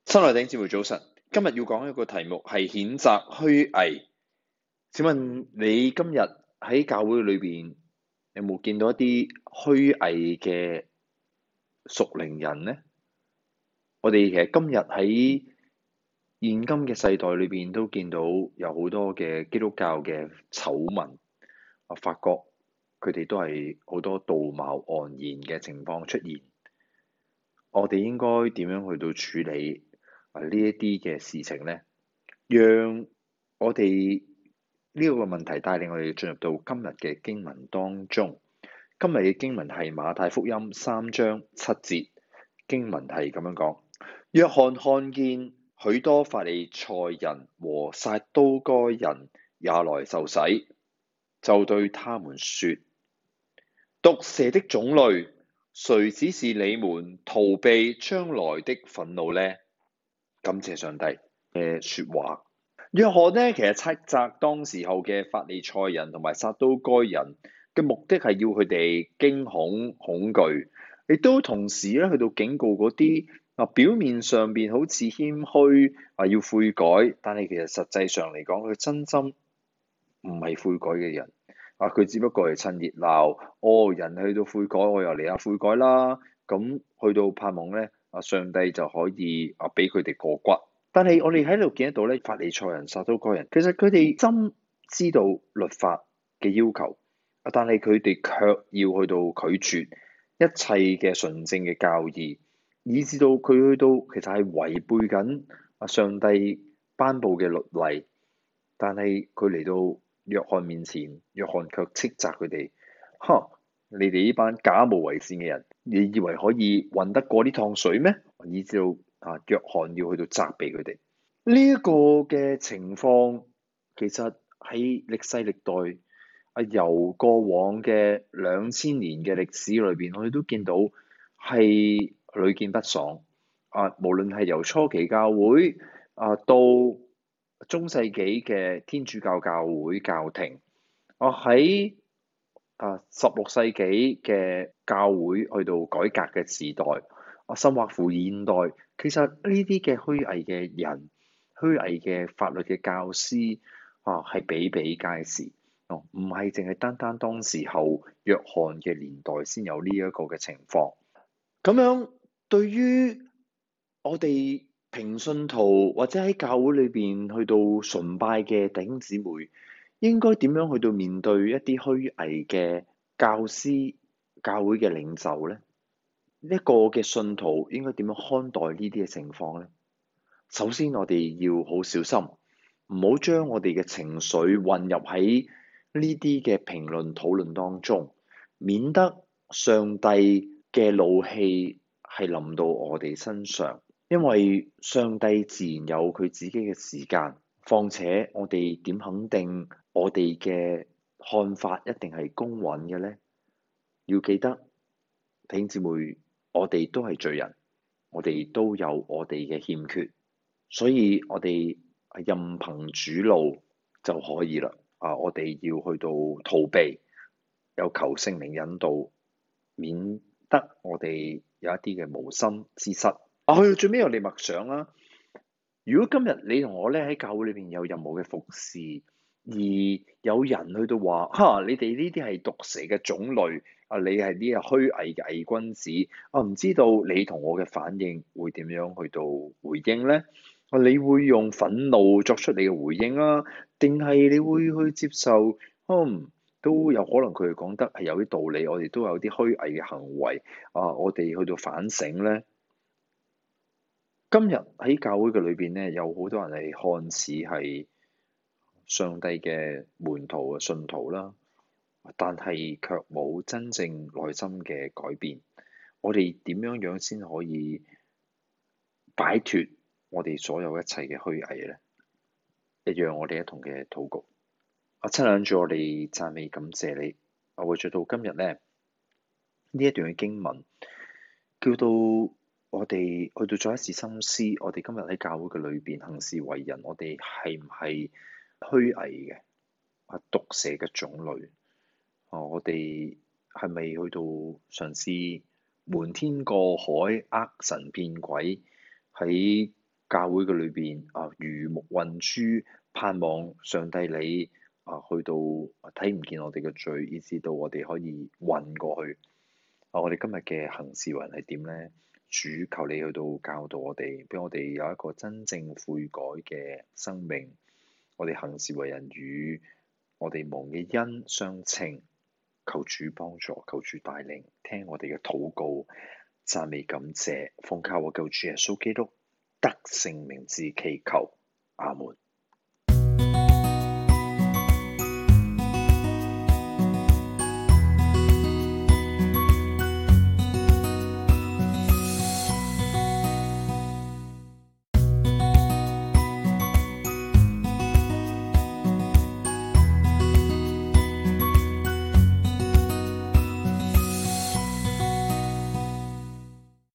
親愛的弟兄姊妹早晨，今日要講一個題目係譴責虛偽。請問你今日喺教會裏邊有冇見到一啲虛偽嘅屬靈人呢？我哋其實今日喺現今嘅世代裏邊都見到有好多嘅基督教嘅醜聞，我發覺佢哋都係好多道貌岸然嘅情況出現。我哋應該點樣去到處理呢一啲嘅事情呢？讓我哋呢個問題帶領我哋進入到今日嘅經文當中。今日嘅經文係馬太福音3章7節，經文係咁樣講：約翰看見許多法利賽人和撒都該人也來受洗，就對他們說：毒蛇的種類，誰指示你們逃避將來的憤怒呢？感謝上帝嘅說話。約翰呢，其實斥責當時候嘅法利賽人同埋撒都該人嘅目的係要佢哋驚恐恐懼，亦都同時咧去到警告嗰啲表面上邊好似謙虛要悔改，但係其實實際上嚟講佢真心唔係悔改嘅人。佢只不過係趁熱鬧，人去到悔改，我又嚟下悔改啦。咁去到盼望咧，上帝就可以俾佢哋過骨。但係我哋喺度見得到咧，法利賽人、撒都該人，其實佢哋真知道律法嘅要求，但係佢哋卻要去到拒絕一切嘅純正嘅教義，以至到佢去到其實係違背緊上帝頒布嘅律例。但係佢嚟到約翰面前，約翰卻斥責佢哋：你哋呢班假冒為善嘅人，你以為可以混得過呢趟水咩？以至到約翰要去到責備佢哋。呢一個嘅情況，其實喺歷世歷代由過往嘅2000年嘅歷史裏邊，我哋都見到係屢見不爽。無論係由初期教會到中世紀嘅天主教教會教廷，喺16世紀嘅教會去到改革嘅時代，甚或乎現代，其實呢啲嘅虛偽嘅人、虛偽嘅法律嘅教師係比比皆是。唔係淨係單單當時候約翰嘅年代先有呢一個嘅情況。咁樣對於我哋平信徒或者喺教會裏邊去到崇拜嘅弟兄姊妹，應該點樣去到面對一啲虛偽嘅教師、教會嘅領袖呢？一個嘅信徒應該點樣看待呢啲嘅情況呢？首先，我哋要好小心，唔好將我哋嘅情緒混入喺呢啲嘅評論討論當中，免得上帝嘅怒氣係臨到我哋身上。因為上帝自然有佢自己嘅時間，況且我哋點肯定我哋嘅看法一定係公允嘅呢？要記得，弟兄姊妹，我哋都係罪人，我哋都有我哋嘅欠缺，所以我哋任憑主怒就可以啦。我哋要去到逃避，有求聖靈引導，免得我哋有一啲嘅無心之失。去到最尾我哋默想啦。如果今日你同我咧喺教會裏邊有任何嘅服侍，而有人去到話你哋呢啲係毒蛇嘅種類，你係呢個虛偽嘅偽君子，唔知道你同我嘅反應會點樣去到回應咧？你會用憤怒作出你嘅回應啊，定係你會去接受？都有可能佢哋講得係有啲道理，我哋都有啲虛偽嘅行為，我哋去到反省咧。今日喺教會嘅裏邊咧，有好多人係看似係上帝嘅門徒啊、信徒啦，但係卻冇真正內心嘅改變。我哋點樣先可以擺脫我哋所有一切嘅虛偽咧？一樣我哋一同嘅禱告。親愛嘅主，我哋讚美感謝你。為咗到今日咧，呢一段嘅經文叫到我哋去到再一次深思，我哋今日喺教會嘅裏邊行事為人，我哋係唔係虛偽嘅毒蛇嘅種類？我哋係咪去到嘗試瞞天過海、呃神騙鬼，喺教會嘅裏邊魚目混珠，盼望上帝你去到睇唔見我哋嘅罪，以至到我哋可以混過去。我哋今日嘅行事為人係點呢？主求你去到教導我哋，俾我哋有一個真正悔改嘅生命。我哋行事為人與我哋蒙嘅恩相稱，求主幫助，求主帶領，聽我哋嘅禱告，讚美感謝，奉靠我救主耶穌基督得勝名字祈求，阿門。